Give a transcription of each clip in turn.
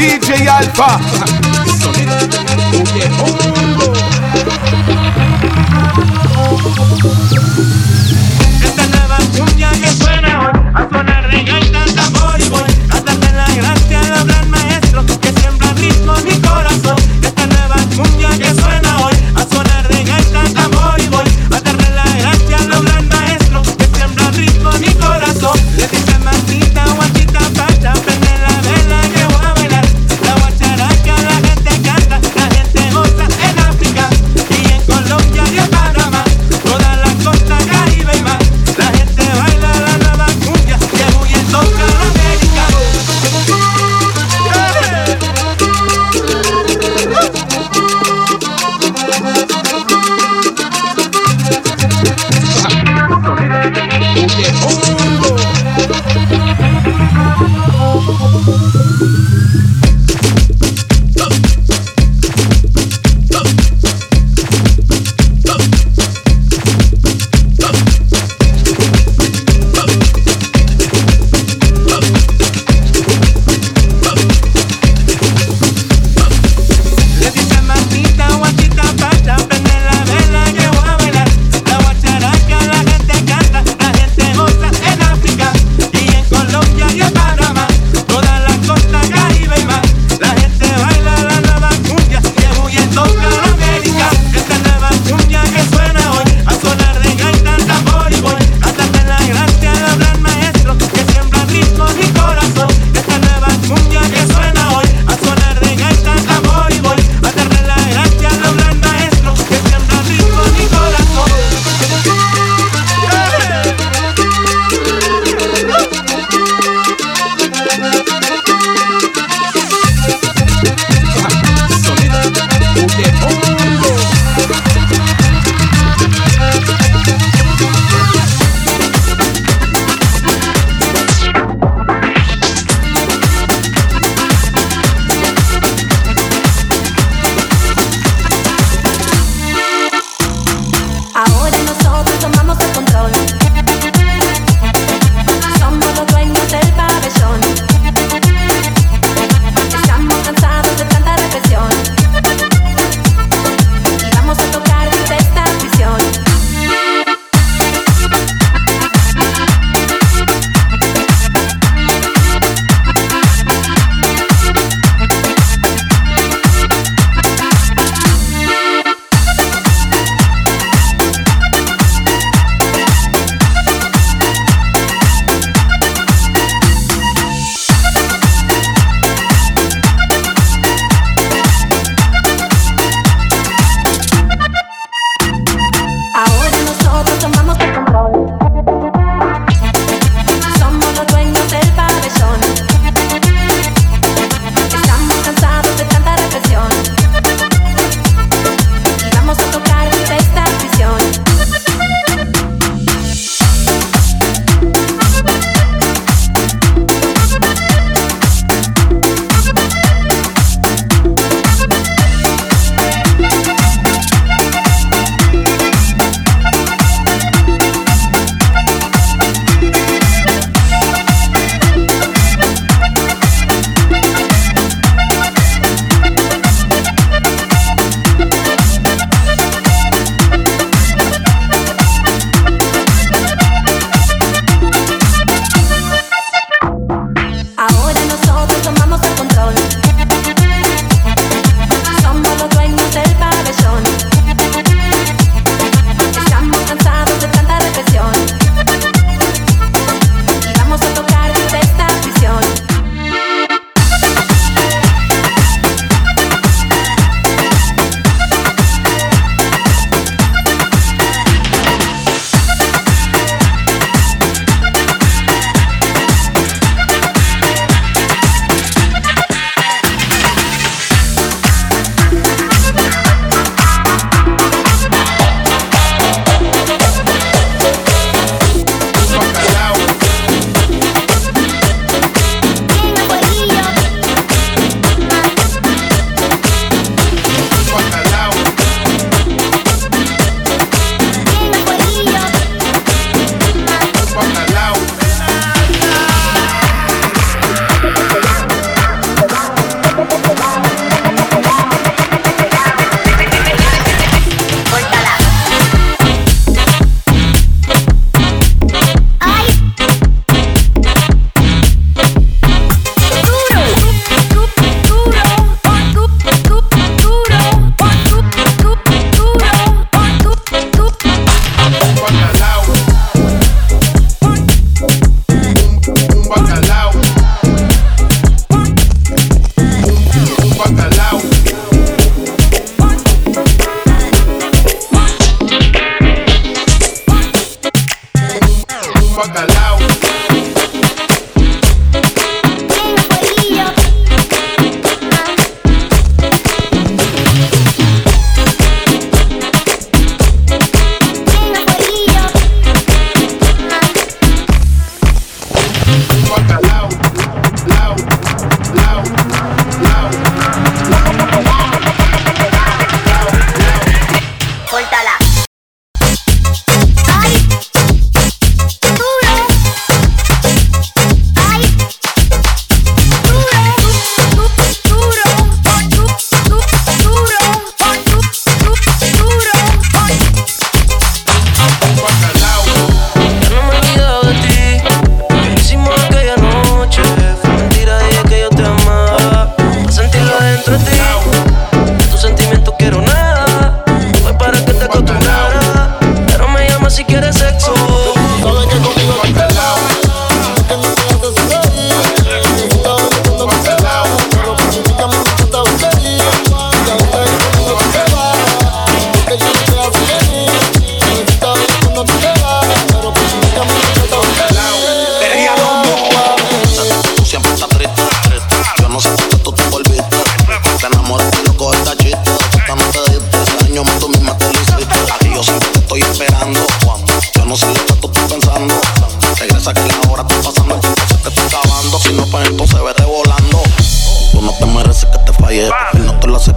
DJ Alfa. Esta nueva cumbia que suena hoy, a sonar de gaita, tambor y voy a darle la gracia al gran maestro que siembra ritmo en mi corazón. Esta nueva cumbia que suena hoy, a sonar de gaita, tambor y voy a darle la gracia al gran maestro que siembra ritmo en mi corazón. Le dice mamita, guachita, pacha, prende la vela que voy a bailar. La guacharaca la gente canta, la gente goza en África y en Colombia y en Panamá, toda la costa caribe y más. La gente baila la nueva cumbia que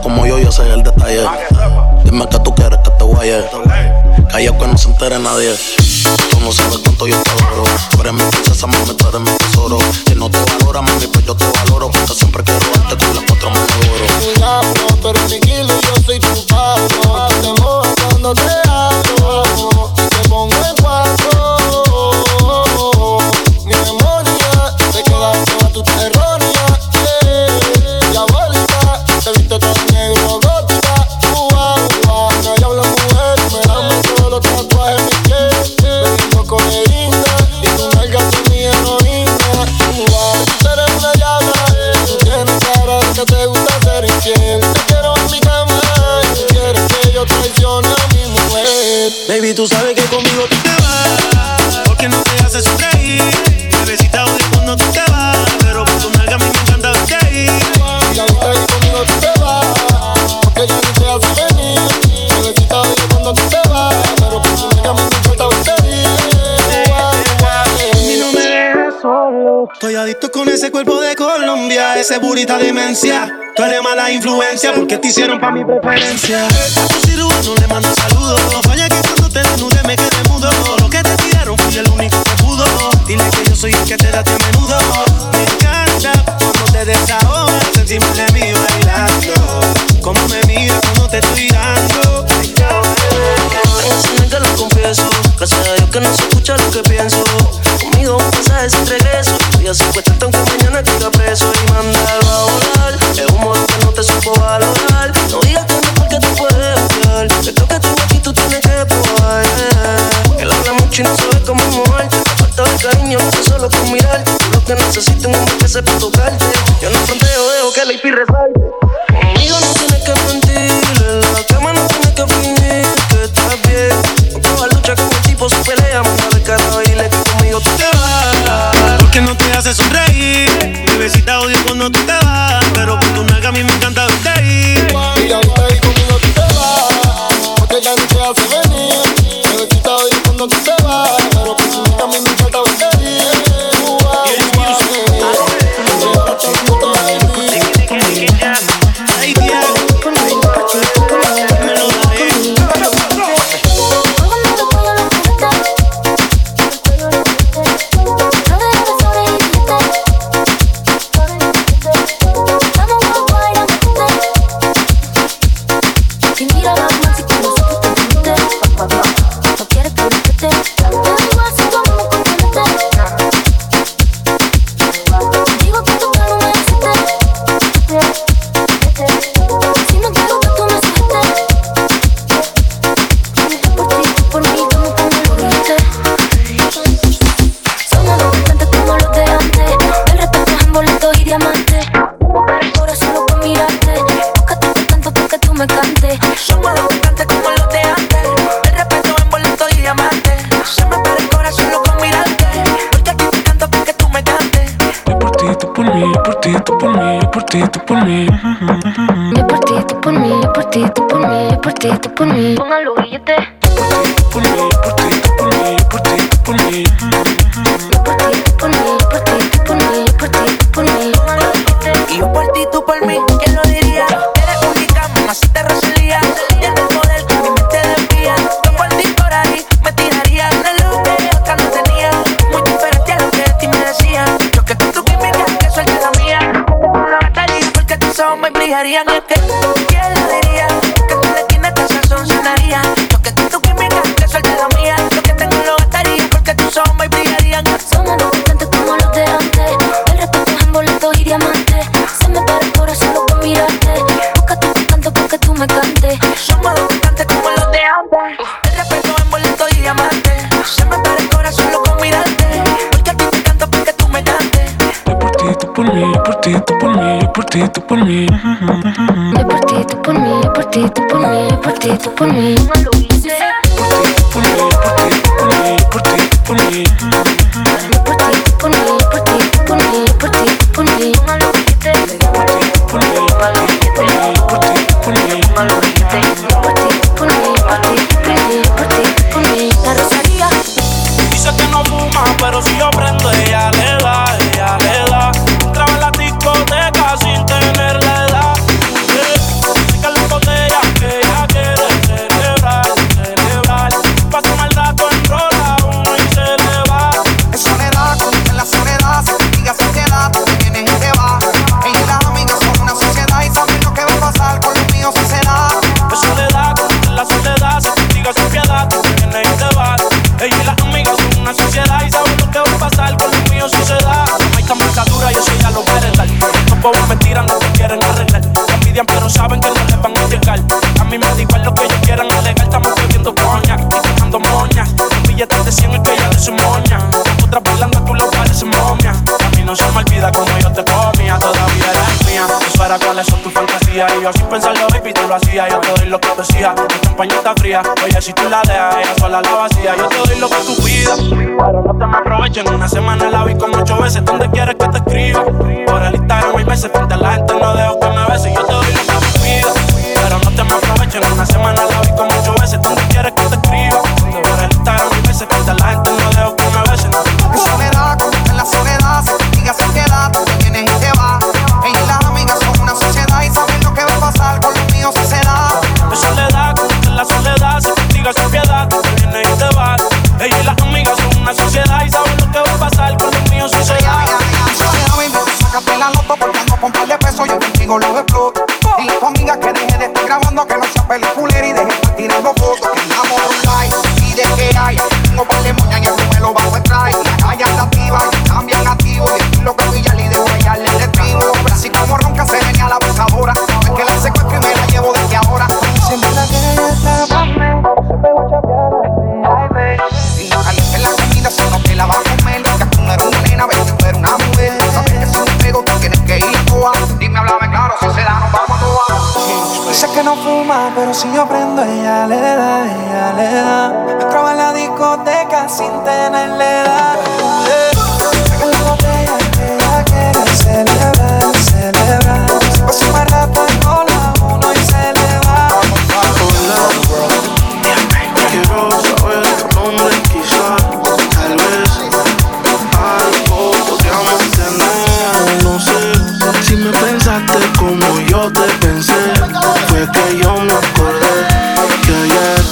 como yo sé el detalle. Dime que tú quieres que te guaye. Calla que no se entere nadie. Tú no sabes cuánto yo te adoro. Tú eres mi princesa, mami, tú eres mi tesoro. Si no te valora, mami, pues yo te valoro. Porque siempre quiero darte con las 4 manos de oro. Tú eres mi kilo y yo soy tu paso. Te mojas cuando te hablo y te pongo en 4. Mi memoria te queda toda tu errónea. Diabólica, te viste todo negro, gótica. No hay habla mujer, me dame todos los tatuajes en mi piel. Bebiendo codeína y tu nalga son mi heroína. Tú eres una llama, tú tienes cara de que te gusta ser infiel. Te quiero en mi cama y tú quieres que yo traicione a mi mujer. Baby, tú sabes que conmigo tú te vas, porque no te hace sonreír. Bebecita odio cuando tú te vas, pero por tu nalga a mí me encanta verte ahí. Y ahorita ahí conmigo tú te vas, porque ya ni te hace venir. Bebecita odio cuando tú te vas, pero por tu nalga a mí me encanta verte ahí. Y no me dejes solo. Estoy adicto con ese cuerpo de Colombia, ese burita demencia. Tú eres mala influencia porque te hicieron pa' mi preferencia. A tu cirujano le mando saludos. No falla que cuando te desnude me quedé mudo. Lo que te tiraron fui el único que pudo. Dile que yo soy el que te da a menudo. Me encanta cuando te desahogas encima de mí bailando. Como me miras cuando te estoy dando. Enseña que lo confieso, gracias a Dios que no se escucha lo que pienso. Conmigo un mensaje sin regreso. Voy a secuestrarte aunque mañana caiga preso y mandarlo a volar. Es un modo que no te supo valorar. No digas que no porque tú puedes odiar. Esto que tengo aquí tú tienes que probar. Él habla mucho y no sabe cómo moverte. Falta de cariño, no sé solo con mirarte. Tú lo que necesitas un hombre que sepa tocarte. Yo no fronteo, dejo que la IP resalte. Conmigo no tienes que mentir, en la cama no tienes que fingir que estás bien. No cojas lucha con el tipo, se pelea, manda de cara y dile que conmigo tú te vas. Porque no te hace sonreír. Bebecita odio cuando tú te vas, pero por tu nalga a mí me encanta verte ahí. Y ahorita ahí conmigo tú te vas, porque ya ni te hace venir. Bebecita odio cuando tú te vas, pero por tu nalga a mí me encanta verte ahí. Por mí, pongan los billetes. Por mí, por ti, por mí, por ti, por mí. Por ti, por mí, por ti, por mí, por ti, por mí. Pongan los billetes. Y yo por ti, tú por mí, ¿quién lo diría? Eres única, mamacita Rosalía. Tienes el poder que mi mente desvía. Yo por ti por ahí me tiraría de lo que otra no tenía. Muy diferente a lo que de ti me decían. Yo que con tu química, que suerte la mía. Te lo gastaría porque tus ojos me brillarían. Y es que, ¿quién lo diría? Que tu esquina te sazonaría. Yo que con tu química, que suerte la mía. Lo que tengo lo gastaría porque tus ojos me brillarían. Somos dos cantantes como los de antes. El respeto es en boletos y diamantes. Se me para el corazón solo con mirarte. Busca tu canto porque tú me cantes. Somos dos cantantes como los de antes. El respeto en boletos y diamantes. Se me para el corazón solo con mirarte. Porque a ti te canto porque tú me cantes. Yo por ti, tú por mí, por ti, tú por mí, por ti, tú por mí. Yo por ti, tú por mí, por ti, tú por mí, por ti, tú por mí. Pongan los billetes. Por ti, por mí, por ti, por mí, por ti, por mí. Yo por ti, por mí, por ti, por mí, por ti, por mí. Pongan los billetes. Por ti, por mí, Pongan los billetes. por ti, por mí. Pongan los billetes. Por ti, por mí, por ti, por mí, por ti, por mí. La Rosalía. Dice que no fuma, pero si yo prendo, ella le da, ella le da. Entraba en la discoteca sin tener la edad. apoyan, pero saben que no les van a llegar. A mí me da igual lo que ellos quieran alegar. Estamos bebiendo coña y dejando moña. Un billete de 100 el que ella de su moña. Otras bailando tú lo pareces momia. A mí no se me olvida como yo te comía. Todavía eres mía. Eso era cuáles son tus fantasías. Y yo sin pensarlo, baby, tú lo hacías. Yo te doy lo que decía. Mi champaña está fría. Oye, si tú la dejas, ella sola la vacía. Yo te doy lo que tú pidas, pero no te me aprovechen. Una semana la vi como 8 veces. ¿Dónde quieres que te escriba? Por el Instagram 1000 veces. Frente a la gente no dejo que me beses. Yo te doy lo que tú pidas, pero no te me aprovechen. Una semana la vi como 8 veces. ¿Dónde quieres que te escriba? Por el Instagram 1000 veces. Frente a la gente no dejo que me beses. En soledad, como en la soledad, se castiga, se queda, tú te vienes y te vas. Ella y las amigas son una sociedad y saben lo que va a pasar con los míos si se da. En soledad, como en la soledad, se castiga sin piedad, tú te vienes y te vas. Ella y las amigas son una sociedad y saben lo que va a pasar con los míos si se da. Soledad, baby, sácate la loto porque ando con par de pesos, yo contigo los exploto. Dile a tu amiga que deje de estar grabando, que no sea peliculera y deje de estar tirando fotos. Que enamoro un like y de que hay. Tengo par de moñas y el me lo bajo el traje. La calle anda activa y también activo. Y el lo que pilla y de huellarle el estribo. Pero así como ronca se venía la abusadora. Es que la secuestro y me la llevo desde ahora. Siempre la que ella está pa' mí. Se pegó a chapear ay, baby. Y no caliente la comida, sino que la va a comer. Que tú no eres una nena, ves que tú eres una mujer. Sabes que si me pego, tú tienes que ir a toa. Dime, háblame claro, si se da, nos vamos a toa. Dice que no fuma, pero si yo prendo, ella le da, ella le da. Entraba en la discoteca sin tenerle edad. Saca la botella que ella quiere celebrar, celebrar. Se pasa más rato con la uno y se le va. Quiero saber tu nombre, quizá, tal vez algo podríamos tener. No sé si me pensaste como yo te pensé. Fue que yo me acordé que ayer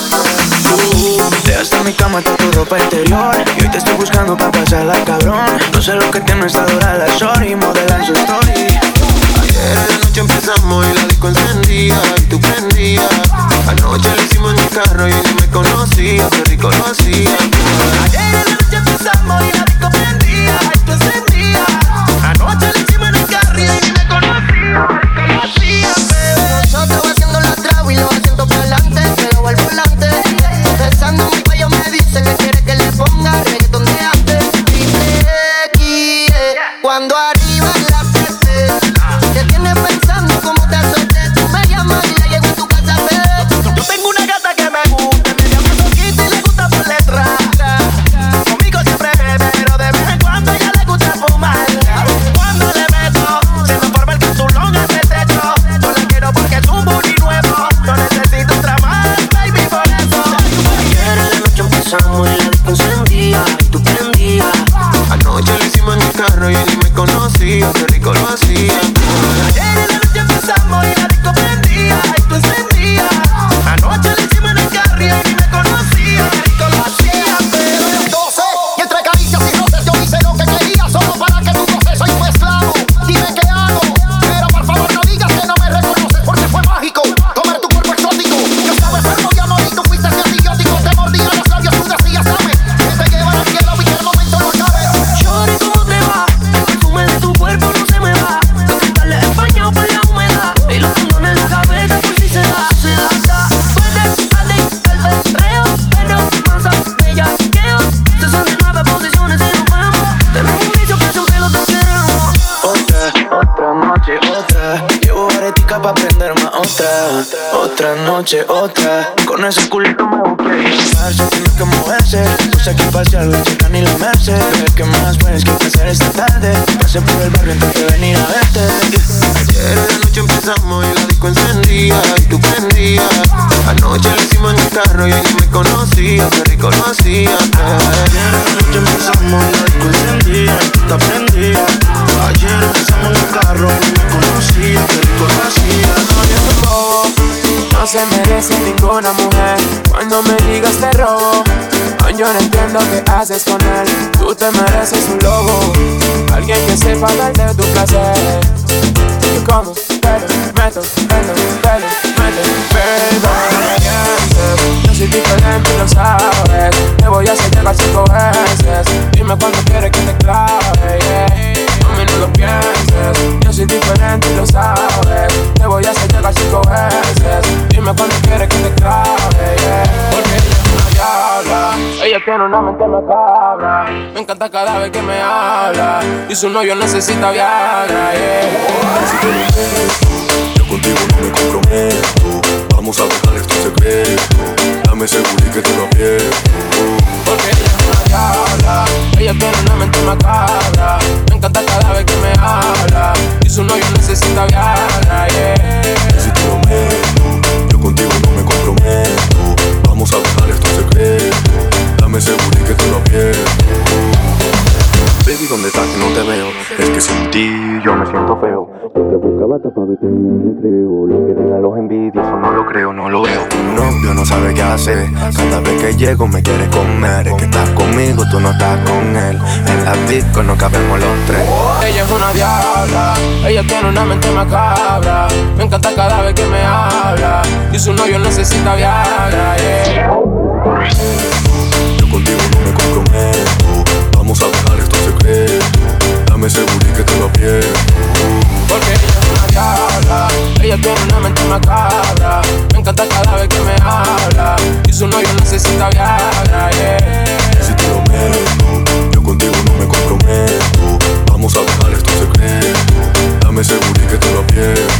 tú dejaste en mi cama toda tu ropa interior y hoy te estoy buscando para pasarla, cabrón. No sé lo que tiene esta dura la shorty, modela en su story. Ayer en la noche empezamos y la disco encendía y tú prendías. Anoche lo hicimos en mi carro y ni me conocía, qué rico lo hacía. Ayer en la noche empezamos y la disco prendía y tú encendías. Anoche lo hicimos en el carro y ni me conocía, qué rico lo hacía, bebé. Nosotros haciendo la trago y los asientos para adelante, pegado al volante. Besando mi cuello me dice que quiere que le ponga reggaetón de antes. Triple X, cuando arriba la peste. Te tienes pensando cómo te azotes. Tú me llamas y la llevo a tu casa, bebé. Yo tengo una gata que me gusta, me llama poquito y le gusta por letra. Conmigo siempre bebe, pero de vez en cuando a ella le gusta fumar. Cuando le meto, se me forma el capsulón en el techo. Yo la quiero porque es un booty nuevo. No necesito otra más, baby, por eso. Ayer en la noche empezamos y la disco encendía y tú prendías. Anoche lo hicimos en mi carro y ni me conocía, qué rico lo hacía. Ayer en la noche empezamos y la disco prendía y tú encendías. Anoche lo hicimos en el carro y ni me conocía, qué rico lo hacía, pero 12 y entre caricias y roces yo hice lo que quería solo para que tu proceso y tu esclavo. Dime qué hago, pero por favor no digas que no me reconoces porque fue mágico tomar tu cuerpo exótico. Yo estaba enfermo y amor y tú fuiste mi antibiótico. Te mordía los labios, tú decías dame, que te llevan al cielo y que el momento no acabe. Shorty, ¿cómo te va? El perfume de tu cuerpo no se me va. Los cristales empañados por la humedad y los condones en la cabeza por si se da, se da. Puedes adictar al perreo, pero más bellaqueo. 69 posiciones y nos vemos. Tenemos un vicio que siempre lo queremos. Otra noche, otra. Llevo aretica pa' prender más otra noche, otra. Con ese culito me busqué y se tiene que moverse. Puse aquí pa' hacer la chica ni la merced. ¿Qué más puedes que hacer esta tarde? Pasé por el barrio antes de venir a verte. Ayer en la noche empezamos y la disco encendía y tú prendías. Anoche lo hicimos en el carro y ni me conocía, qué rico lo hacía. Ayer en la noche empezamos y la disco encendía y tú te prendías. Ayer empezamos en el carro y ni me conocía, qué rico lo hacía. No se merece ninguna mujer cuando me digas te robo. Yo no entiendo qué haces con él. Tú te mereces un lobo, alguien que sepa dar de tu placer. Yo como, pero meto, yo soy diferente y lo sabes. Te voy a hacer llegar 5 veces. Dime cuándo quieres que te clave, yeah. A mí no lo pienses. Yo soy diferente y lo sabes. Te voy a hacer llegar tiene una mente macabra. Me encanta cada vez que me habla. Y su novio necesita Viagra, yeah. Si te lo meto, yo contigo no me comprometo. Vamos a dejar esto en secreto. Dame seguro y que te lo aprieto. Porque ella es una diabla. Ella tiene una mente macabra. Me encanta cada vez que me habla. Y su novio necesita Viagra, yeah. Si te lo meto, yo contigo no me comprometo. Vamos a dejar esto en secreto. Dame seguro y que te lo aprieto. Baby, ¿dónde estás que no te veo? Es que sin ti yo me siento feo. Yo te buscaba para verte en el recreo. Lo que digan los envidiosos no lo creo, no lo veo. Tu novio no sabe qué hacer. Cada vez que llego me quiere comer. Es que estás conmigo, tú no estás con él. En la disco no cabemos los tres. Ella es una diabla. Ella tiene una mente macabra. Me encanta cada vez que me habla. Y su novio necesita Viagra, yeah. Yo contigo no me comprometo. Vamos a dejar esto en secreto. Dame seguro y que te lo aprieto. Porque ella es una diabla. Ella tiene una mente macabra. Me encanta cada vez que me habla. Y su novio necesita Viagra, yeah. Si te lo meto, yo contigo no me comprometo. Vamos a dejar esto en secreto. Dame seguro y que te lo aprieto.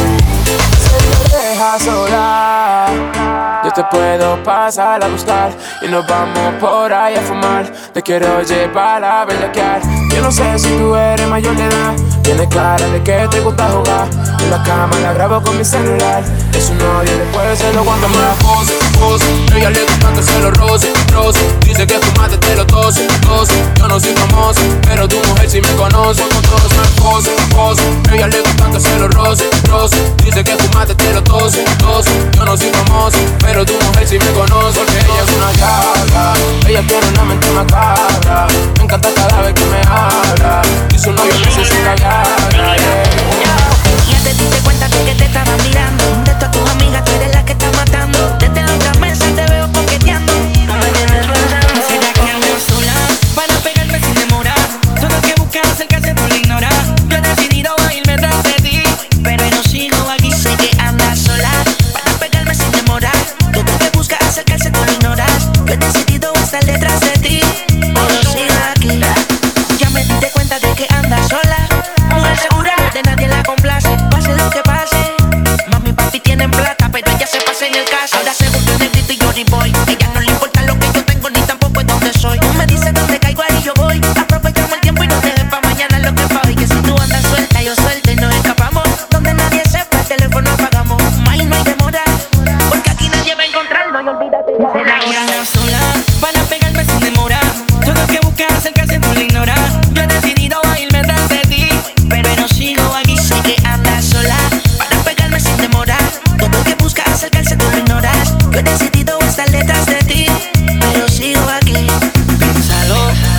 Si te dejas sola, yo te puedo pasar a buscar. Y nos vamos por ahí a fumar. Te quiero llevar a bellaquear. Yo no sé si tú eres mayor de edad. Tienes cara de que te gusta jugar. En la cama la grabo con mi celular. Es un odio y después se lo cuando me la pose, pose. Ella le gusta que se lo roce, roce. Dice que fumaste te lo tose, tose. Yo no soy famoso, pero tu mujer sí me conoce. Con todos me pose, pose. Ella le gusta que se lo roce, roce. Dice que fumaste te lo tose, tose. Yo no soy famoso, pero tu mujer sí me conoce. Porque ella es una diabla. Ella tiene una mente macabra. Me encanta cada vez que me habla. Y su novio necesita Viagra, yeah. Ya te diste cuenta de que te estaba mirando. De todas tus amigas tú eres la que está matando. Desde la otra mesa te veo coqueteando. No me tienes pensando. ¿Será que andas sola para pegarme sin demorar? Todo lo que buscas acercarse tú lo ignoras. Yo he decidido irme tras de ti, pero no sigo aquí. Sé que andas sola para pegarme sin demorar. Todo lo que buscas acercarse tú lo ignoras. Yo he decidido estar detrás de ti, pero sigo aquí. Ya me diste cuenta de que andas sola. Mujer segura, de nadie la complace. Pase lo que pase. Mami y papi tienen plata, pero ella se pasa en el caso. Ahora se busca un negrito y Johnny Boy. Ella no le importa lo que yo tengo ni tampoco es donde soy. Tú me dices dónde caigo, ahí yo voy. Aprovechamos el tiempo y no dejes pa' mañana lo que fue hoy. Que si tú andas suelta, yo suelta y nos escapamos. Donde nadie sepa, el teléfono apagamos. Más no hay demora, porque aquí nadie va a encontrarnos. Y olvídate de la hora. Andas sola para pegarme sin demora. Todo lo que buscas acercarse tú lo ignoras. Yo he decidido irme tras de ti, pero no sigo aquí. Sé que andas sola para pegarme sin demorar. Todo lo que buscas acercarse tú lo ignoras. Yo he decidido estar detrás de ti, pero sigo aquí. Piénsalo,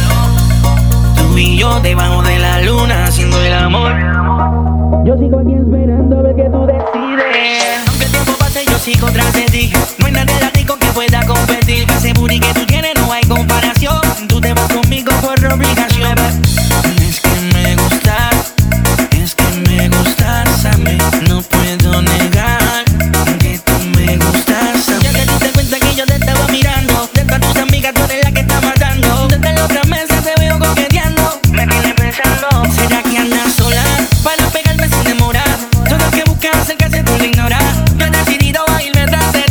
tú y yo debajo de la luna haciendo el amor. Yo sigo aquí esperando a ver que tú decides. Aunque el tiempo pase yo sigo tras de ti. No hay nadie rico que pueda competir. Ese booty que tú tienes no hay comparación. Tú te vas conmigo por obligación. Es que me gustas, es que me gustas a mí. No puedo negar que tú me gustas a mí. Ya te diste cuenta que yo te estaba mirando. De todas tus amigas tú eres la que está matando. Desde la otra mesa te veo coqueteando. Me tienes pensando. ¿Será que andas sola para pegarme sin demorar? Todo lo que buscas acercarse tú lo ignoras. Yo he decidido irme tras de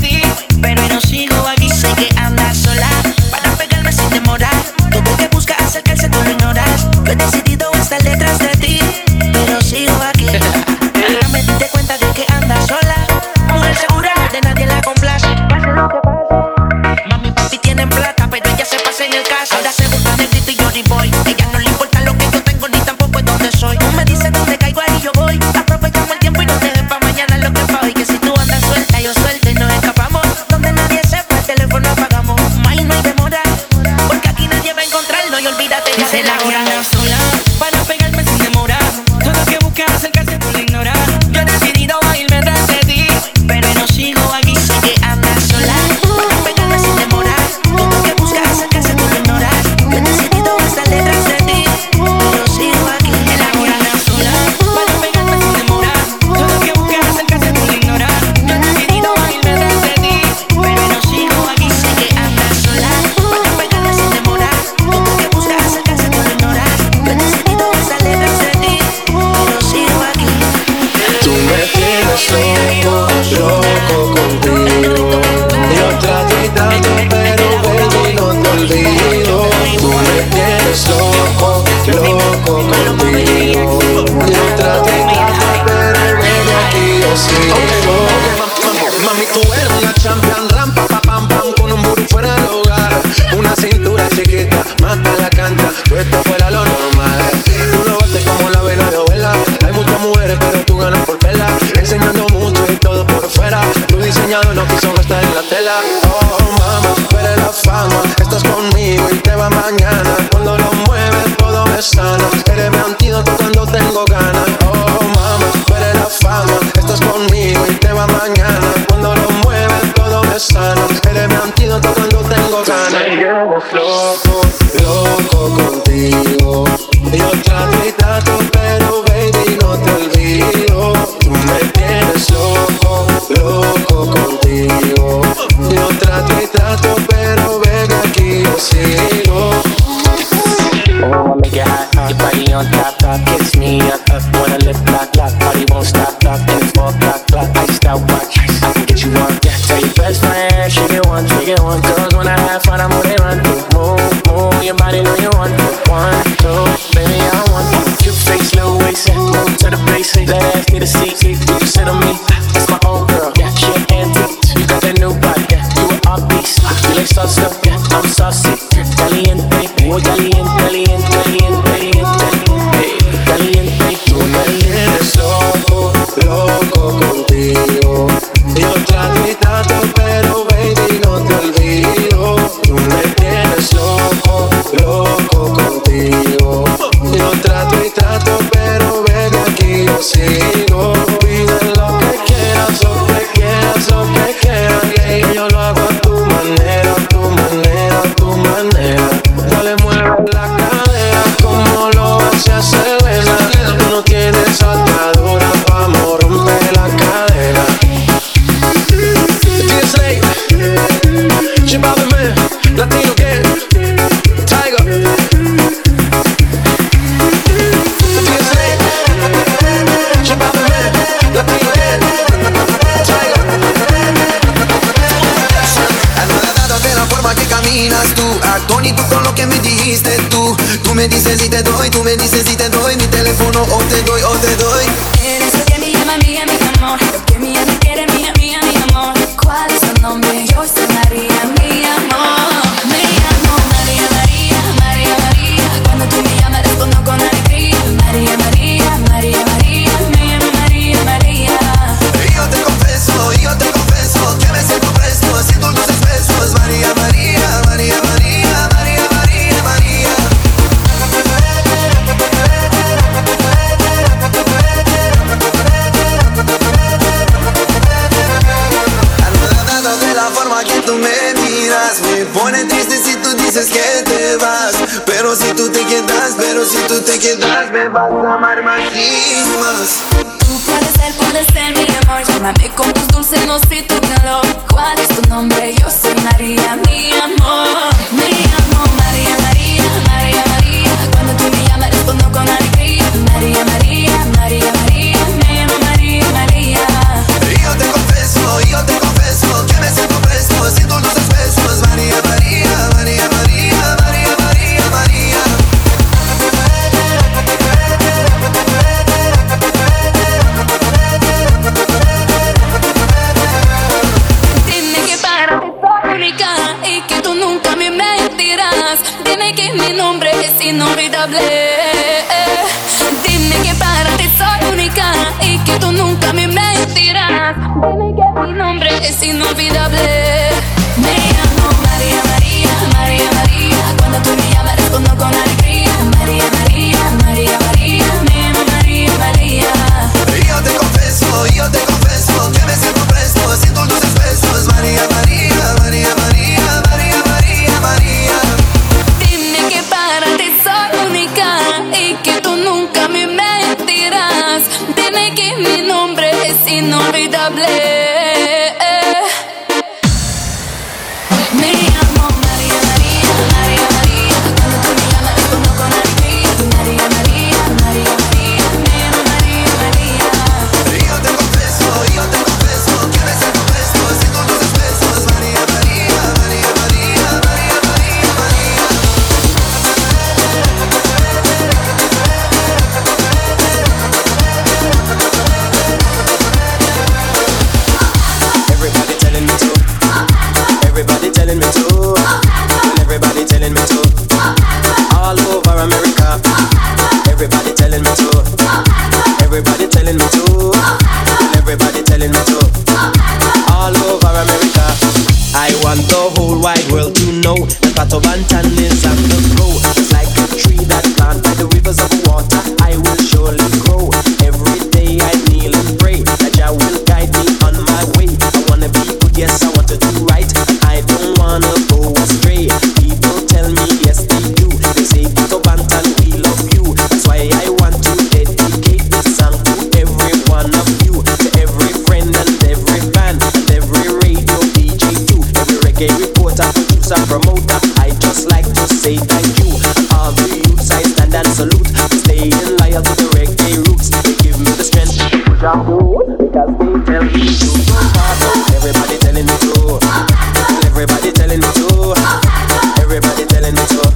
diseñador no quiso gastar en la tela. Oh mama, tú eres la fama, estás conmigo y te va mañana. Cuando lo mueves todo me sana, eres mi antídoto cuando tengo ganas. Oh mama, tú eres la fama, estás conmigo y te va mañana. Cuando lo mueves todo me sana, eres mi antídoto cuando tengo ganas. Loco, loco contigo. Yo trato y trato, pero baby no te olvido. Tú me tienes loco, loco contigo. Yo trato y trato, pero baby aquí yo sigo. Oh, I make it hot, your body on top, kiss me up, wanna lift, lock, party won't stop, and it's 4 o'clock, iced out watch, I can get you on, yeah. Tell your best friend, shake it one, girls when I have fun, I'm who they run to. Move, your body know you want to. 1, 2, baby I want you. Cute face, little waist, move to the base, let ass need a seat, you can sit on me, that's my old girl, yeah. She an antique, you got that new body, yeah. You an art piece, you like salsa, yeah. I'm saucy, caliente, muy caliente, caliente, caliente, caliente, caliente. Tú me tienes loco, loco contigo. Yo trato y trato, pero baby no te olvido. Tú me tienes loco, loco contigo. Yo trato y trato, pero baby aquí yo sigo. Pide lo que quieras, lo que quieras, lo que quieras. Que yo lo hago a tu manera, tu manera, tu manera. Dale, mueve la cadera como lo hace Selena. Tú no tienes atadura, vamos, rompe la cadera. TSA, Chibabe Man, Latino Gang, Tiger. TSA, Chibabe Man, Latino Gang, Tiger. Anodado de la forma que caminas tú, atónito con lo que me dijiste tú. Tú me dices y te doy, tú me dices y te doy mi teléfono o te doy, o te doy. Eres lo que me llama mía, mi amor. Lo que mía me quiere, mía, mía, mi amor. ¿Cuál es tu nombre? Yo soy María, mi amor. Me llamo María, María, María, María. Cuando tú me llamas respondo con alegría. María, María, María, María. Me llamo María, María. Y yo te confieso que me siento fresco, siento dulces besos. María, María, María, María, María, María, María. Anodado de la forma que tú me miras, me pone triste si tú dices que te vas. Pero si tú te quedas, me vas a amar más y más. Tú puedes ser mi amor. Llámame con tus dulces, no sé tu calor. ¿Cuál es tu nombre? Yo soy María, mi amor. Me llamo María, María, María, María. Cuando tú me llamas respondo con alegría. María, María, María, María. Me llamo María, María. Y yo te confieso que me siento fresco, siento dulces besos. María, María, María, María, María, María, María. Dime que para ti soy única y que tú nunca me mentirás. Dime que mi nombre es inolvidable. Dime que para ti soy única y que tú nunca me mentirás. Dime que mi nombre es inolvidable. Me llamo María, María, María, María. Cuando tú me llamas respondo con alegría. María, María, María, María. Me llamo María, María. Y yo te confieso que me siento fresco, siento dulces besos. María, María, María, María, María, María, María. Dime que para ti soy única y que tú nunca me mentirás. Dime que mi nombre es inolvidable. Me llamo María, María, María, María. Cuando tú me llamas respondo con alegría. María, María, María, María. Me llamo María, María. Y yo te confieso que me siento fresco, siento dulces besos. María, María, María, María, María, María, María. Everybody telling me to. Everybody telling me to. Well, everybody telling me to. All over America. Everybody telling me to. Everybody telling me to. Well, everybody telling me to. All over know the Pato Bantan is on the go. Just like a tree that planted by the rivers of water, I will surely grow. Every day I kneel and pray that Jah will guide me on my way. I wanna be good, yes, I want to do right, and I don't wanna go astray. People tell me yes they do. They say Pato Bantan, we love you. That's why I want to dedicate this song to every one of you, to every friend and every fan and every radio DJ too, every reggae reporter, producer, promoter. I just like to say thank you. And all the youths I stand and salute, staying loyal to the reggae roots. They give me the strength to push on through, because they tell me to. Everybody telling me to. Everybody telling me to. Everybody telling me to.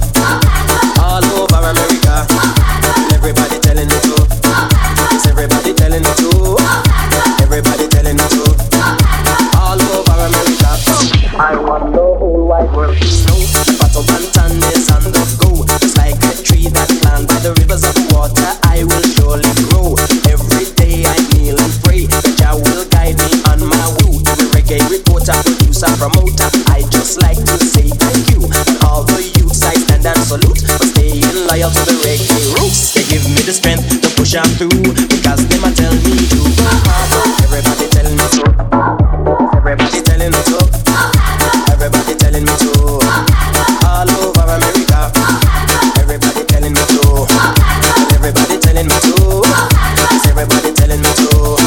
All over America. Everybody telling me to. Yes, everybody telling me to. Everybody telling me to. All over America. I want the whole wide world to know Pato Bantan is on the go. Just like a tree that planted by the rivers of water, I will surely grow. Every day I kneel and pray that Jah will guide me on my way. Every reggae reporter, producer, promoter, I just like to say thank you. And all the youths I stand and salute for staying loyal to the reggae roots. They give me the strength to push on through, because them a tell me to go hard. Everybody telling me to. Everybody telling me to. Everybody telling me to. All over America. Everybody telling me to. Everybody telling me to. Yes, everybody telling me to.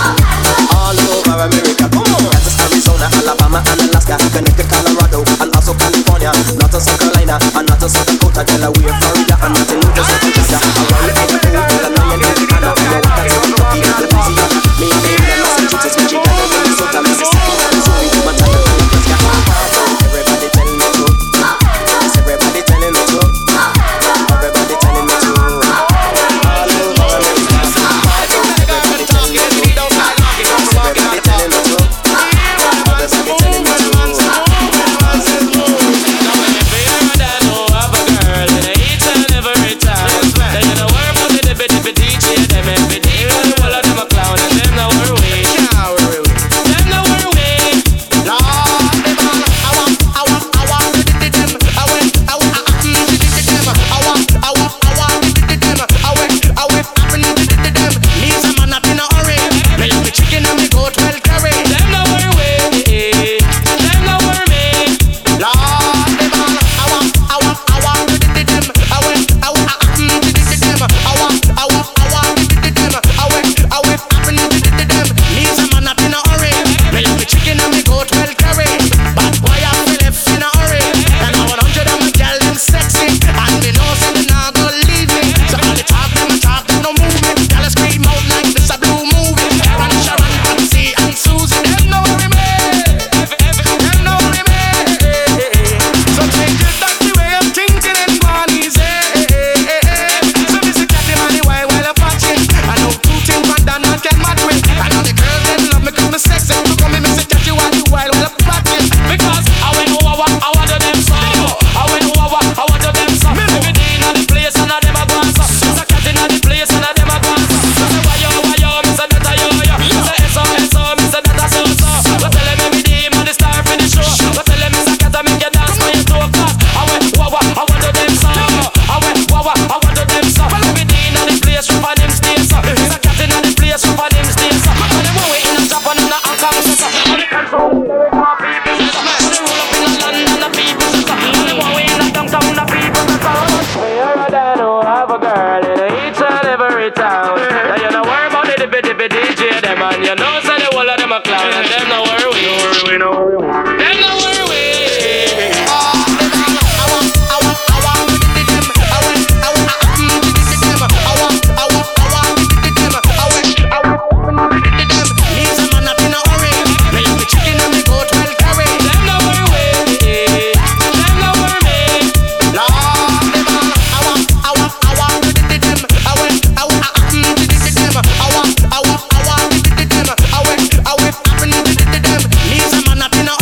All over America. Come on. Kansas, Arizona, Alabama, and Alaska, Connecticut, Colorado, and also California, not to South Carolina, and not to South Dakota, Delaware, Florida, and not to New Jersey, Georgia, Hawaii, Idaho, Illinois, and Indiana, Kentucky, Kentucky, Louisiana, Maine, Massachusetts, Michigan, Minnesota, Mississippi, Missouri, Montana, and Nebraska. Everybody telling me to. Yes, everybody telling me to. Everybody telling me to. All over America. Everybody telling me to. Everybody telling me to. Everybody telling me to. Lisa man up in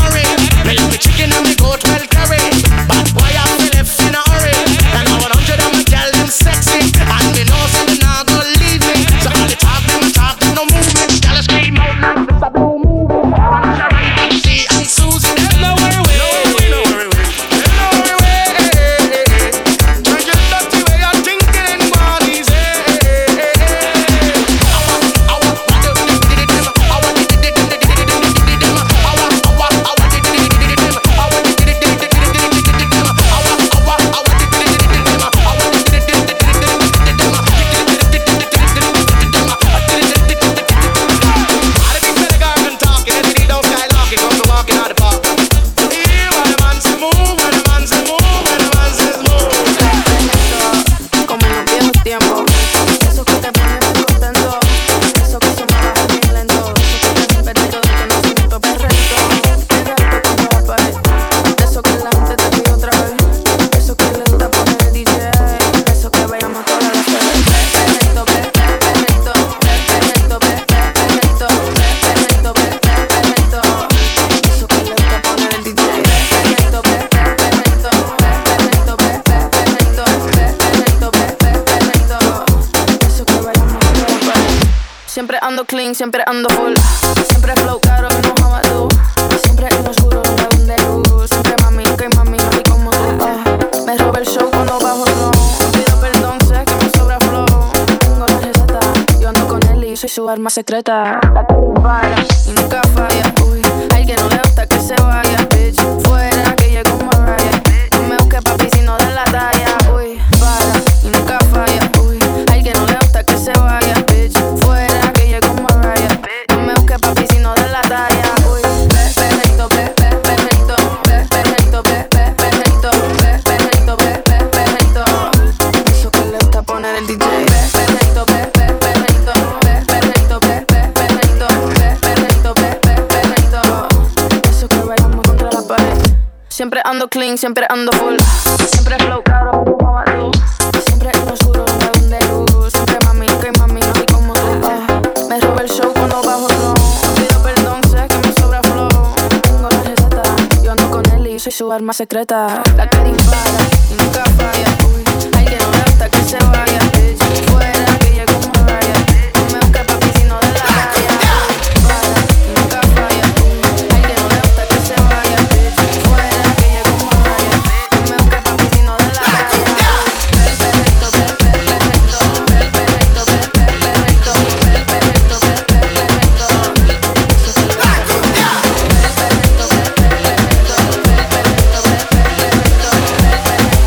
clean, siempre ando full. Siempre flow caro, no jabalú. Siempre en lo oscuro, nunca donde luz. Siempre mami, que mami, no hay como tú. Me roba el show cuando bajo no. Pido perdón, sé que me sobra flow. Tengo la receta, yo ando con él y soy su arma secreta. La que dispara y nunca falla. Uy, hay que no le gusta que se vaya, bitch. Fuera que llegue como Mariah. No me busque papi si no da la talla. Uy, para y nunca falla. Uy, hay que no le gusta que se vaya, bitch. Fuera que llegue como Mariah. No me busque papi si no da la talla. Uy, perrito, perrito, perrito, perrito, perrito, perrito. Eso que le gusta poner el DJ. Perrito, perrito, perrito, perrito, perrito. Eso que bailamos contra la pared. Siempre ando clean, siempre ando full. Siempre flow caro, como Badoo. Siempre en lo oscuro, nunca donde luz. Siempre mami, que mami, no hay como tú. Me roba el show cuando bajo no. Pido perdón, sé que me sobra flow. Tengo la receta, yo ando con él y soy su arma secreta. La que dispara y nunca falla. Uy, hay que no le gusta que se vaya, bitch. Fuera que llegue como Mariah. No me busque papi si no da la talla. Para y nunca falla. Uy, hay que no le gusta que se vaya, bitch. Fuera que llegue como Mariah. No me busque papi si no da la talla. Perrito, perrito, perrito, perrito, perrito, perrito. Eso que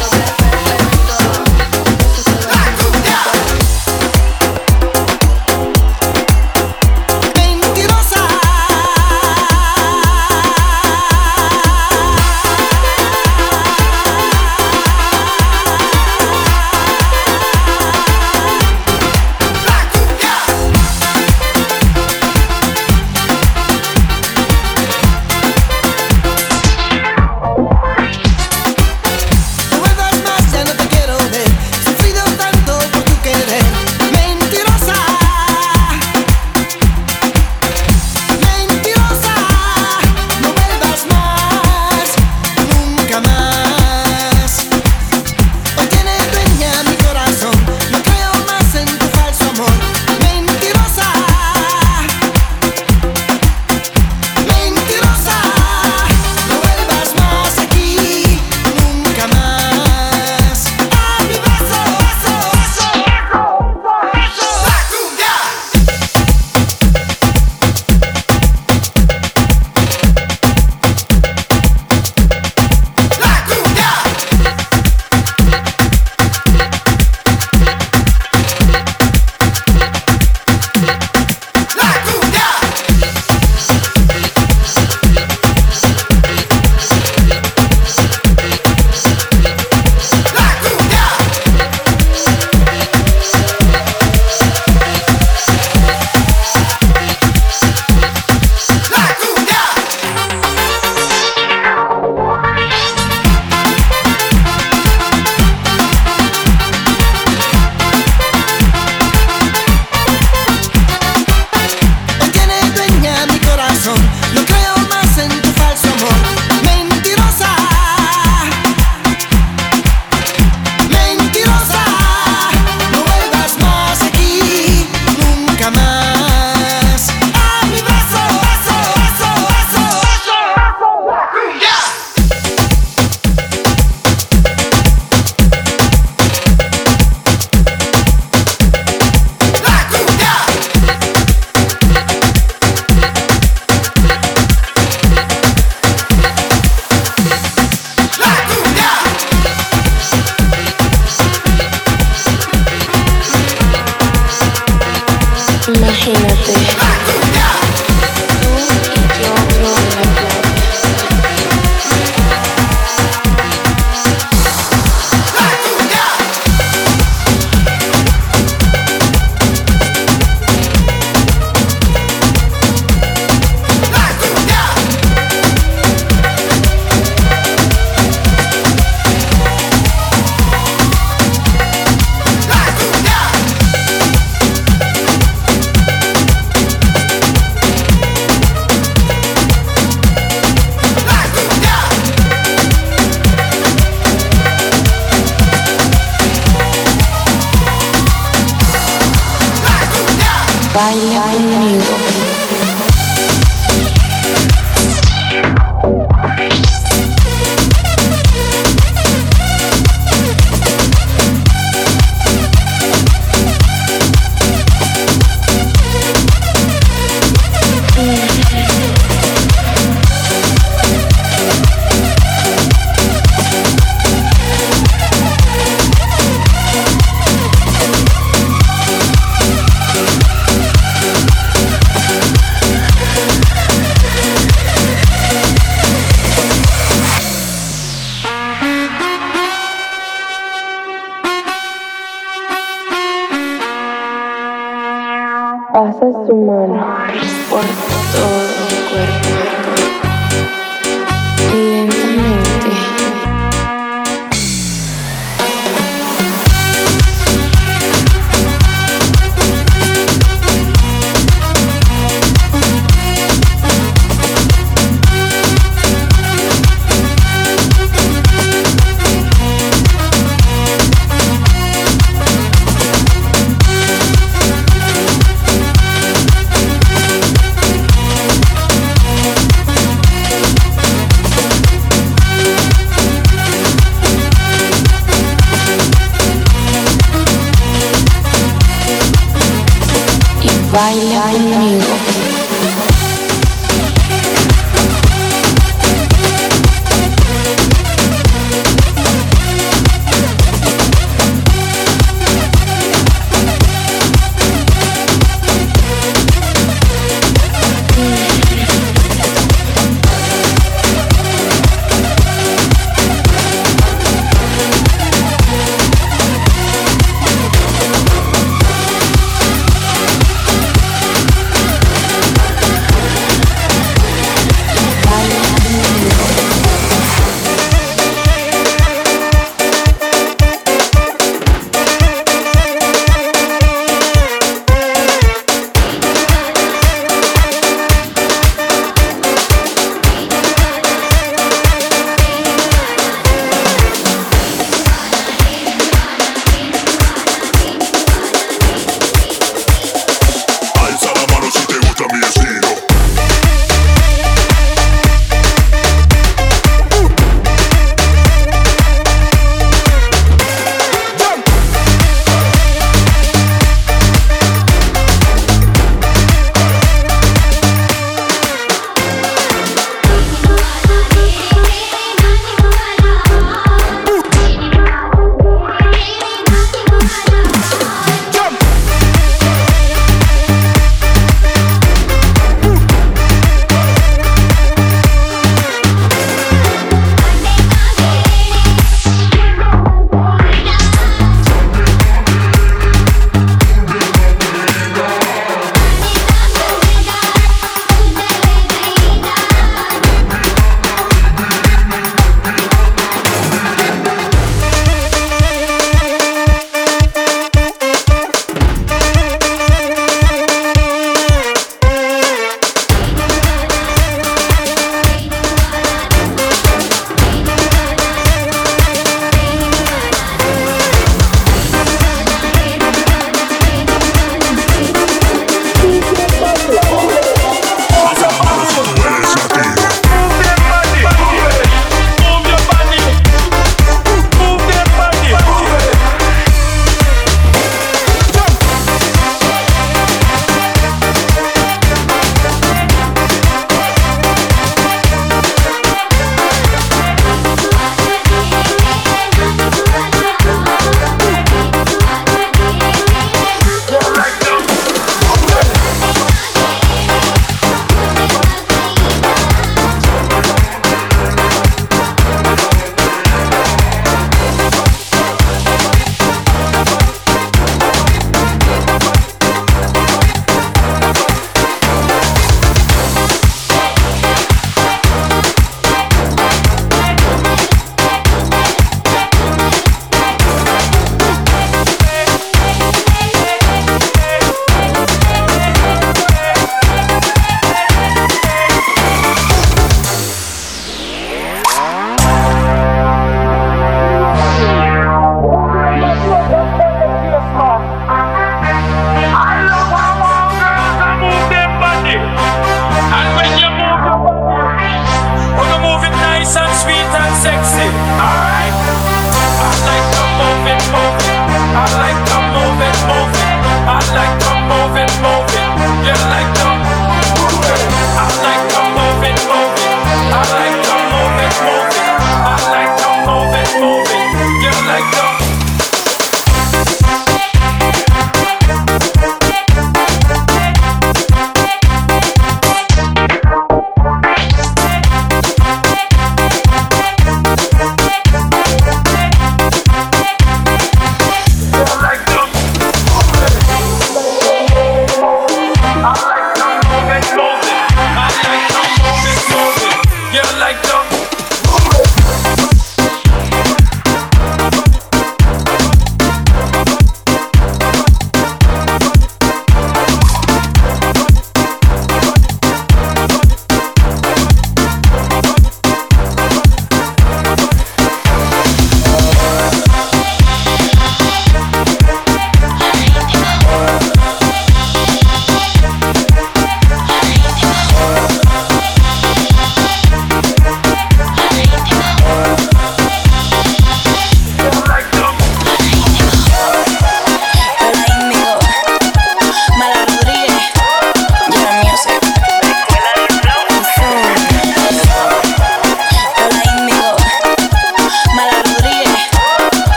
Pasa su mano por todo mi cuerpo. Lentamente. Baila conmigo.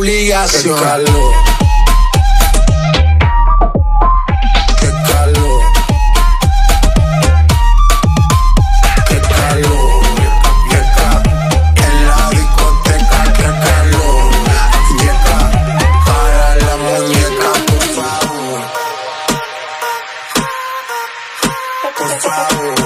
obligación. Qué calor. Qué calor. Qué calor. En la discoteca, qué calor. Llega para la muñeca, por favor. Por favor.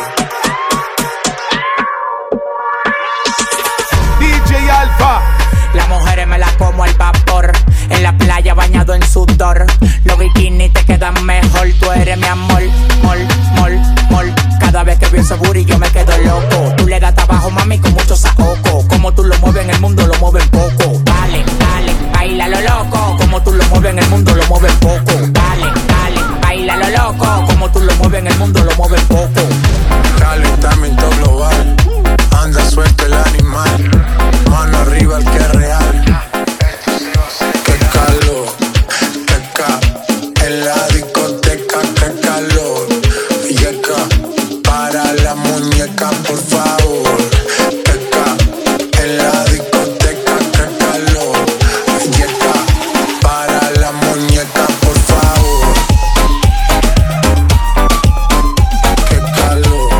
DJ Alfa. Las mujeres me las como al vapor. En la playa bañado en sudor. Los bikinis te quedan mejor. Tú eres mi amor, mol, mol, mol. Cada vez que veo ese booty yo me quedo loco. Tú le das trabajo, mami, con mucho saoco. Como tú lo mueves en el mundo, lo mueves poco. Dale, dale, baila lo loco. Como tú lo mueves en el mundo, lo mueves poco. Dale, dale, baila lo loco. Como tú lo mueves en el mundo, lo mueves poco. Calentamiento global. Anda suelto el animal. Mano arriba el que es real. Qué calor, qué ca. En la discoteca, qué calor. Yeca, para la muñeca, por favor. Qué ca. En la discoteca, qué calor. Yeca, para la muñeca, por favor. Qué calor.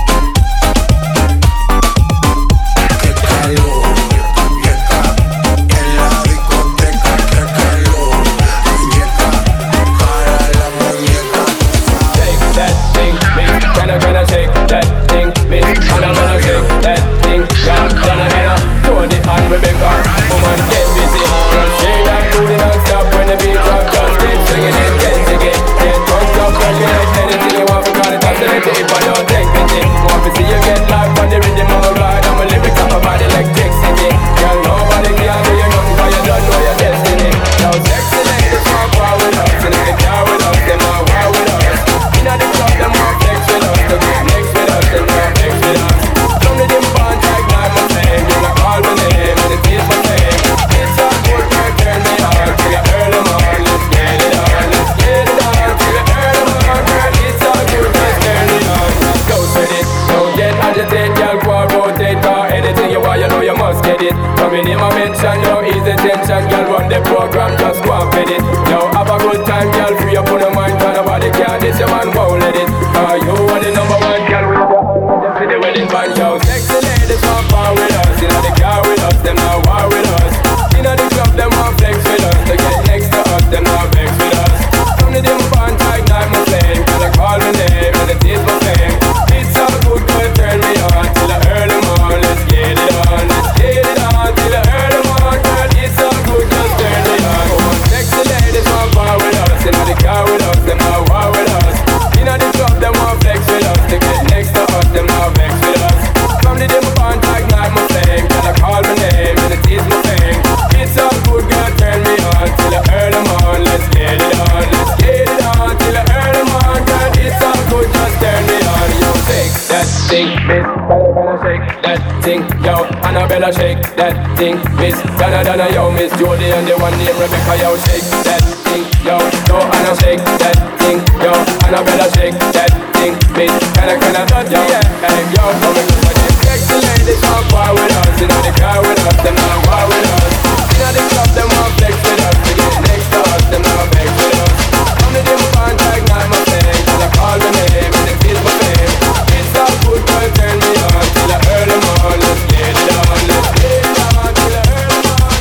Qué calor. Yeca, en la discoteca, qué calor. Yeca, para la muñeca, Shake that thing, bitch. Gonna shake that thing, bitch. Gonna shake that thing, yeah. Gonna throw the hand, Rebecca. Woman, get busy. Just shake that booty non-stop when the beat drop. Just keep swinging it, get jiggy. Get drunk, up, working like anything you want. Because it's oscillating if I don't take pity. Want to see you get live on the rhythm of a ride. I'm a lyrics on my body like electricity. Girl, nobody can do you nothing because you don't know your destiny. Now sexy ladies want power with us. And if they care with us, they want war with us. Inna the club, them want flex with us. To get next with us, them want flex with us. Don't let them bond like my flame. You not call my name, and it is my name. It's a good work, turn me on. Till you earn them on, let's get it on. Let's get it on, till you earn them on. Girl, it's all good, just turn it on. Go with it, don't get agitated. Girl, go and rotate, cause anything you want, you know you must get it. Coming in my mention, no easy tension. Girl, run the program, just go and fit it. Yo, have a good time, girl, free up on your mind. Cause nobody can, this your man won't let it. You are the number one, girl, with your hand for the wedding band. Yo, sexy ladies want power with us. Inna the car with us, them not war with us. Inna the club, them want flex with us. To get next to us, them not vex with us. Come to them band, ignite my flame. Cause I call my name, and it is my fame. It's all good, girl, turn me on. Till I earn them on, let's get it on. Let's get it on, till I earn them on. Girl, it's all good, just turn me on. Oh, sexy ladies want power with us. Inna the car with us, them not war with us. Inna the club, them want flex with us. To get next to us, them not vex with us. From the dim band, ignite my flame. Girl, I call my name, and it is my fame. It's all good, girl, turn me on. Till I earn them on, let's get it on. Let's get it on, till I earn them on. Girl, it's all good, just turn me on. Yo, shake that thing, miss. Gonna shake that thing, yo. Annabella, shake that thing, miss. Donna, yo, Miss Jody, and the one named Rebecca, yo, shake that thing, yo. No, Anna, shake that thing, yo. Annabella, shake that thing, miss. Can yo, hey, yo, come and go. Sexy ladies want power with us. Inna the car with us, them not war with us. Inna the club, them want flex with us. To get next to us, them not vex with us. Come to them band, ignite my flame. Till I call my name, and it is my fame. It's all good, girl, turn me on. Till I earn them on, let's get it on. Let's get it on, till I earn them on.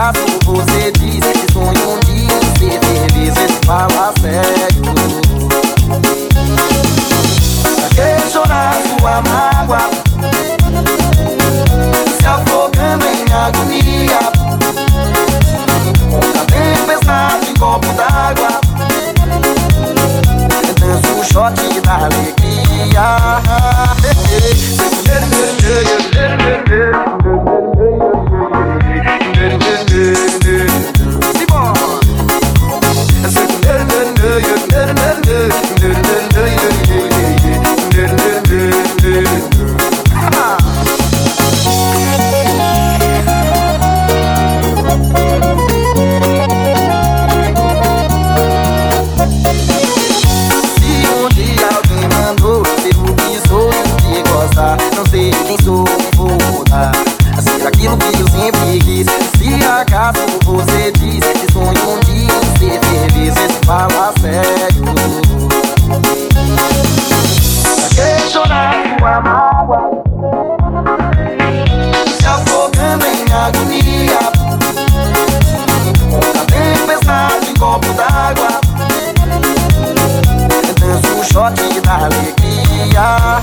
acaso você disse que sonha um dia em ser feliz, fala sério. Pra que chorar sua mágoa, se afogando em agonia, com a tempestade em copo d'água, dança o shot da alegria. Não sei quem sou, vou mudar a ser aquilo que eu sempre quis. Se acaso você disse que sonha um dia em ser feliz, fala sério. Pra que chorar sua mágoa, se afogando em agonia, com a tempestade em copo d'água, dança o shot da alegria.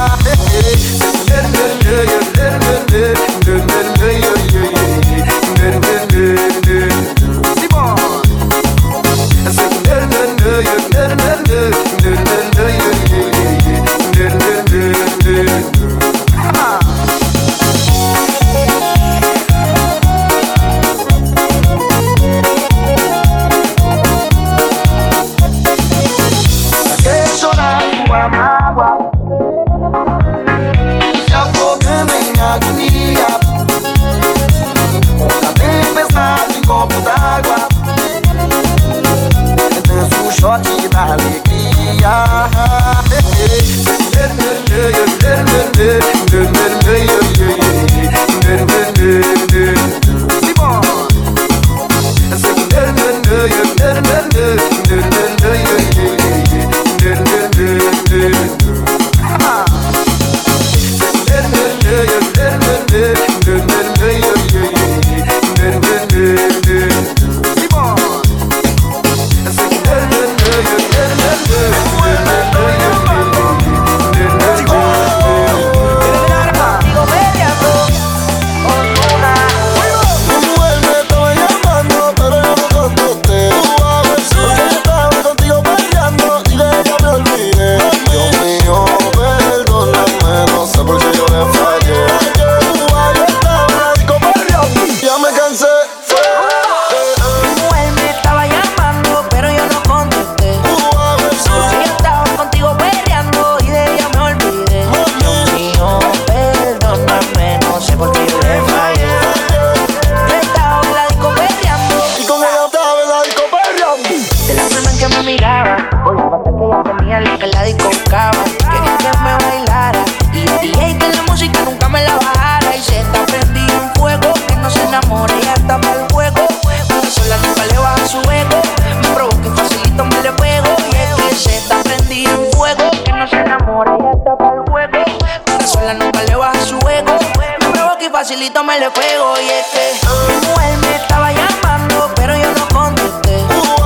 Facilito me le pego y es que mi mujer me estaba llamando, pero yo no contesté.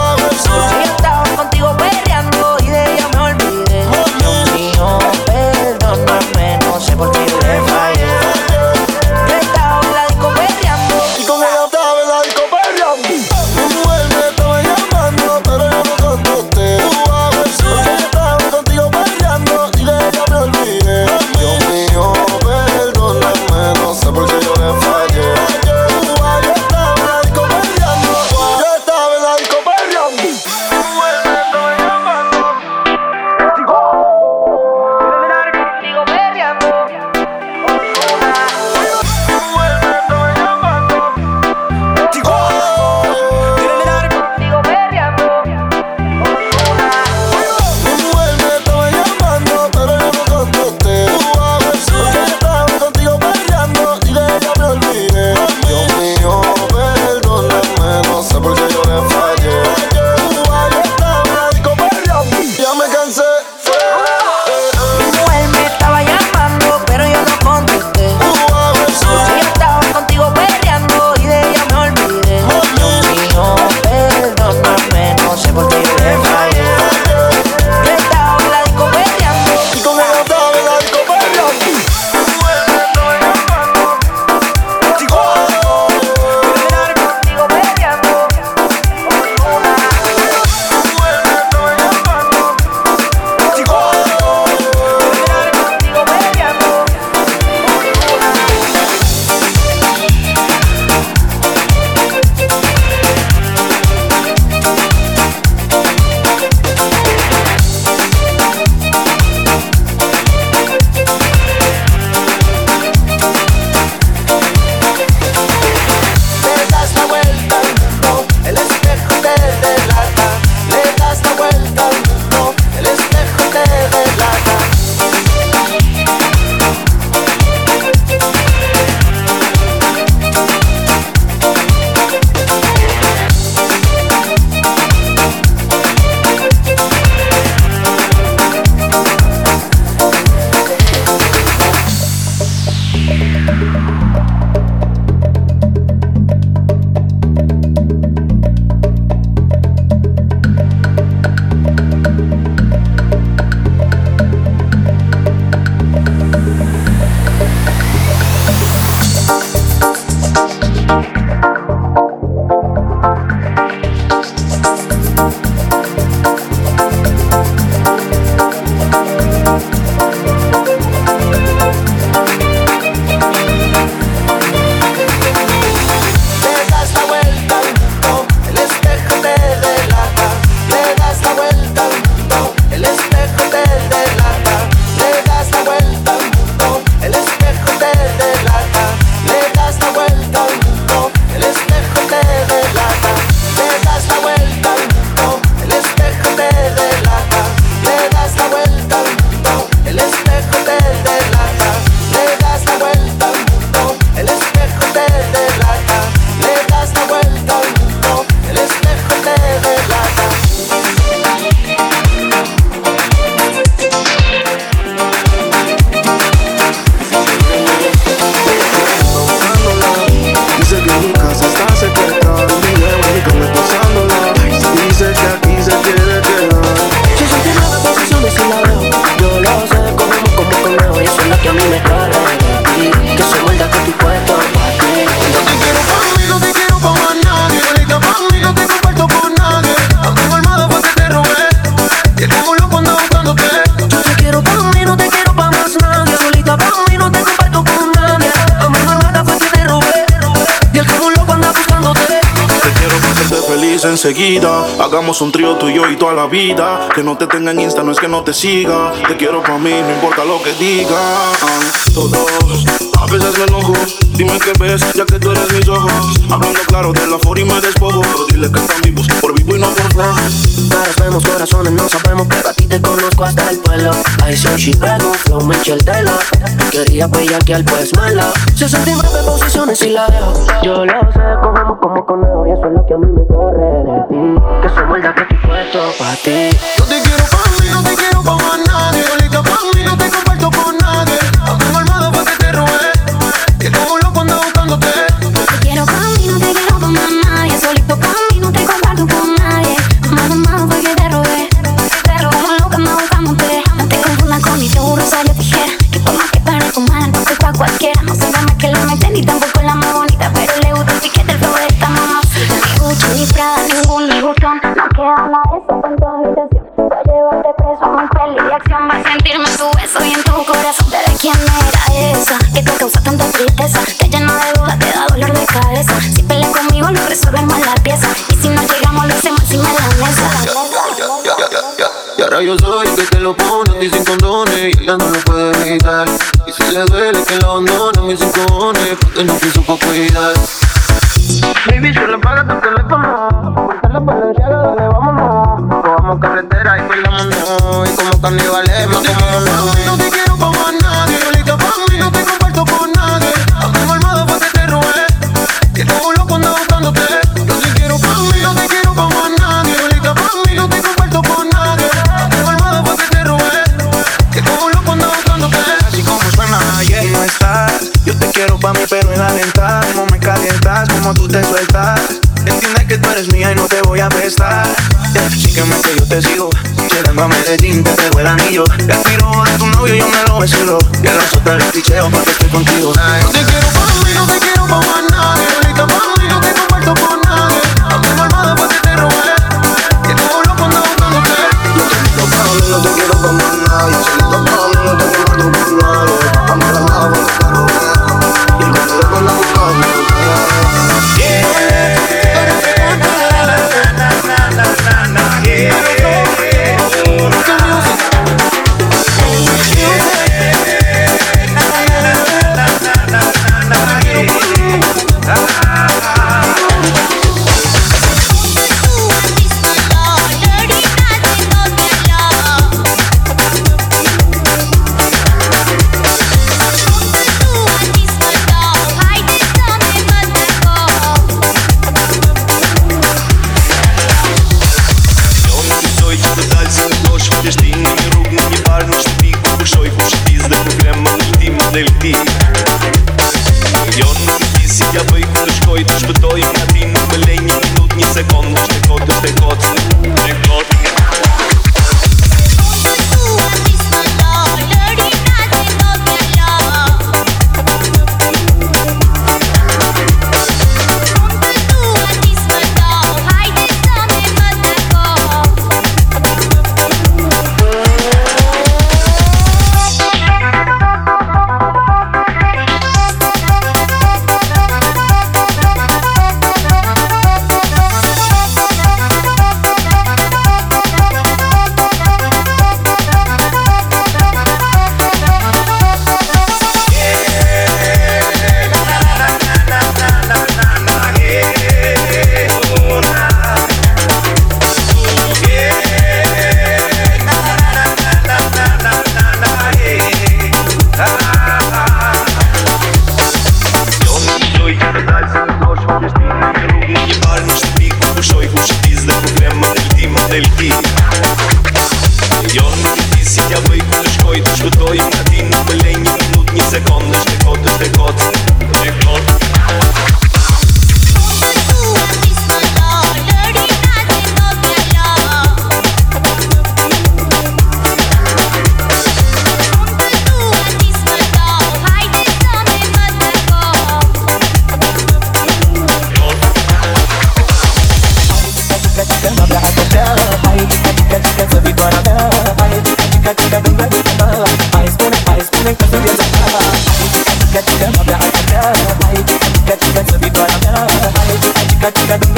Yo estaba contigo peleando y de ella me olvidé. Dios mío, perdóname, no sé por qué yo le fallé. Yo estaba en la disco peleando y con ella estaba en la disco peleando. Mi mujer me estaba llamando, pero yo no contesté. Yo estaba contigo peleando y de ella me olvidé. Dios mío, perdóname, no sé por qué yo le fallé. dice enseguida. Hagamos un trío tú y yo y toda la vida. Que no te tenga en Insta no es que no te siga. Te quiero pa' mí, no importa lo que digan todos. A veces me enojo, dime qué ves, ya que tú eres mis ojos. Hablando claro de la for y me despojo. Pero dile que están vivos, por vivo y no por flow. Caras vemos, corazones no sabemos, pero a ti te conozco hasta el pueblo. I say she pego, flow Michelle Taylor. Quería bellaquear, pues mala. 69 posiciones y la dejo. Yo lo sé, cogemos como conejo y eso es lo que a mí me corre de ti. Que somos el que estoy puesto pa' ti. Yo te quiero pa' mí, no te quiero pa' más nadie. Solita pa' mí, no te comparto con nadie. Tengo armado pa' que te robe, que como loco ando buscándote. Yo te quiero pa' mí, no te quiero pa' más nadie. Solito pa' mí, no te comparto con nadie. Armado pa' que te robe, como loco ando buscándote. No te confundas con mi seguro, salió tijera. Que por más que para tu mala, entonces pa' cualquiera. No se llama que la meten ni tampoco la más bonita, pero le gusta el piquete, el flow de esta mamá. Ni Gucci, ni Prada, ningún Louis Vuitton. No queda nada de eso en tu habitación. Va a llevarte preso a un peli de acción. Va a sentirme en tu beso y en tu corazón. Pero ¿quién era esa que te causa tanta tristeza? Te llena de dudas, te da dolor de cabeza. Si peleas conmigo no resolvemos la pieza. Y si no llegamos lo hacemos encima de la mesa. Y ahora yo soy el que te lo pone a ti sin condones y ella no lo puede evitar. Y si le duele que lo abandone, mis sin cojones, porque no quiso pa' cuidar. Baby, se le paga tu teléfono. Ponte la Balenciaga, dale, vámonos. Cogamos carretera y peleamos, y como caníbales nos comemos. No te quiero pa' más nadie. Solita pa' mí, no te comparto con nadie. Tengo armado pa' que te robe, que como loco ando buscándote. Yo te quiero pa' mí, no te quiero pa' más nadie. Solita pa' mí, no te comparto con nadie. Tengo armado pa' que te robe, que como loco ando buscándote. Así como suena, yeah, no estás. Yo te quiero pa' mí pero en alentar. Como me calientas, como tú te sueltas. Entiende que tú eres mía y no te voy a prestar. Yeah, sígueme que yo te sigo. Llegando a Medellín te pego el anillo. El tiro de tu novio yo me lo vacilo. Y el resto te lo picheo pa' que esté contigo. No te quiero pa' mí, no te quiero pa' más nadie. Solita pa' mí, no te comparto con nadie. Tengo armado pa' que te robe, que como loco ando buscándote. Yo te quiero pa' mí, no te quiero pa' más nadie. Solita pa' mí, no te comparto con nadie. Tengo armado pa' que te robe, y como loco ando buscándote.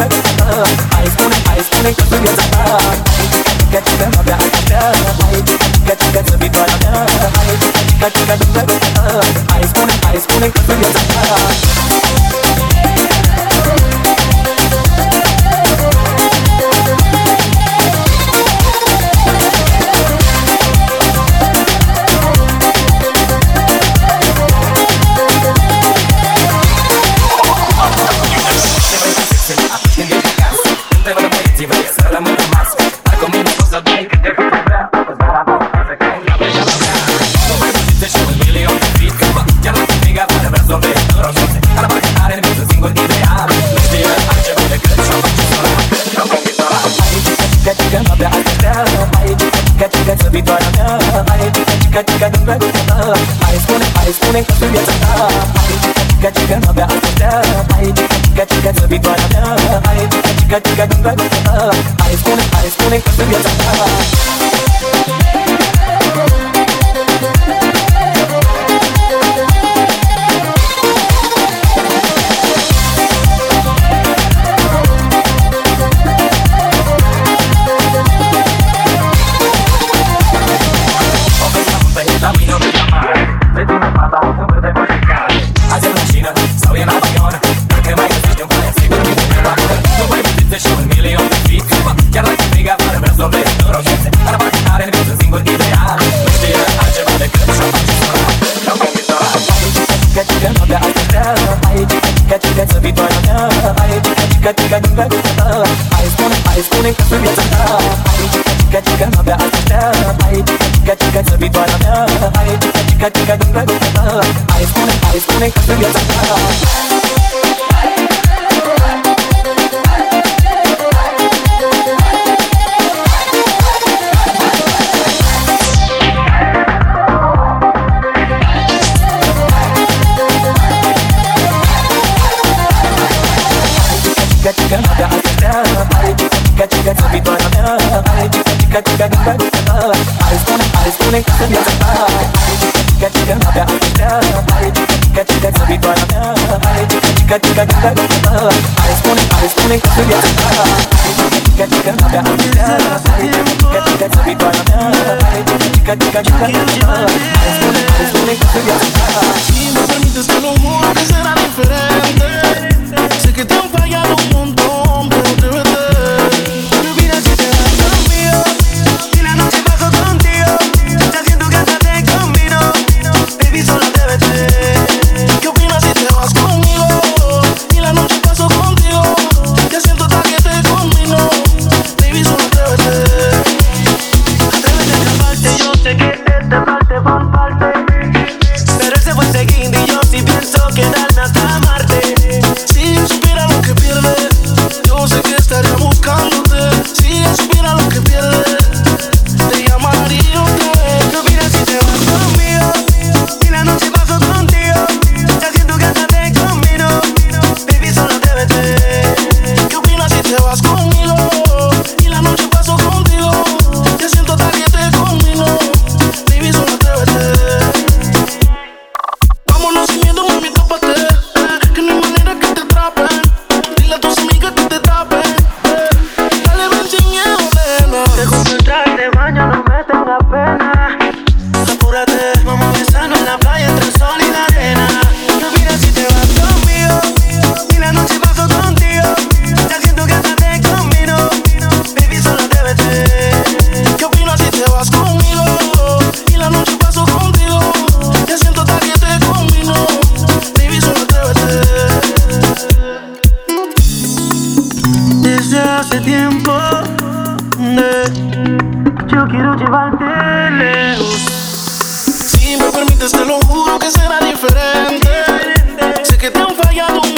Te lo juro que será diferente. Sé que te han fallado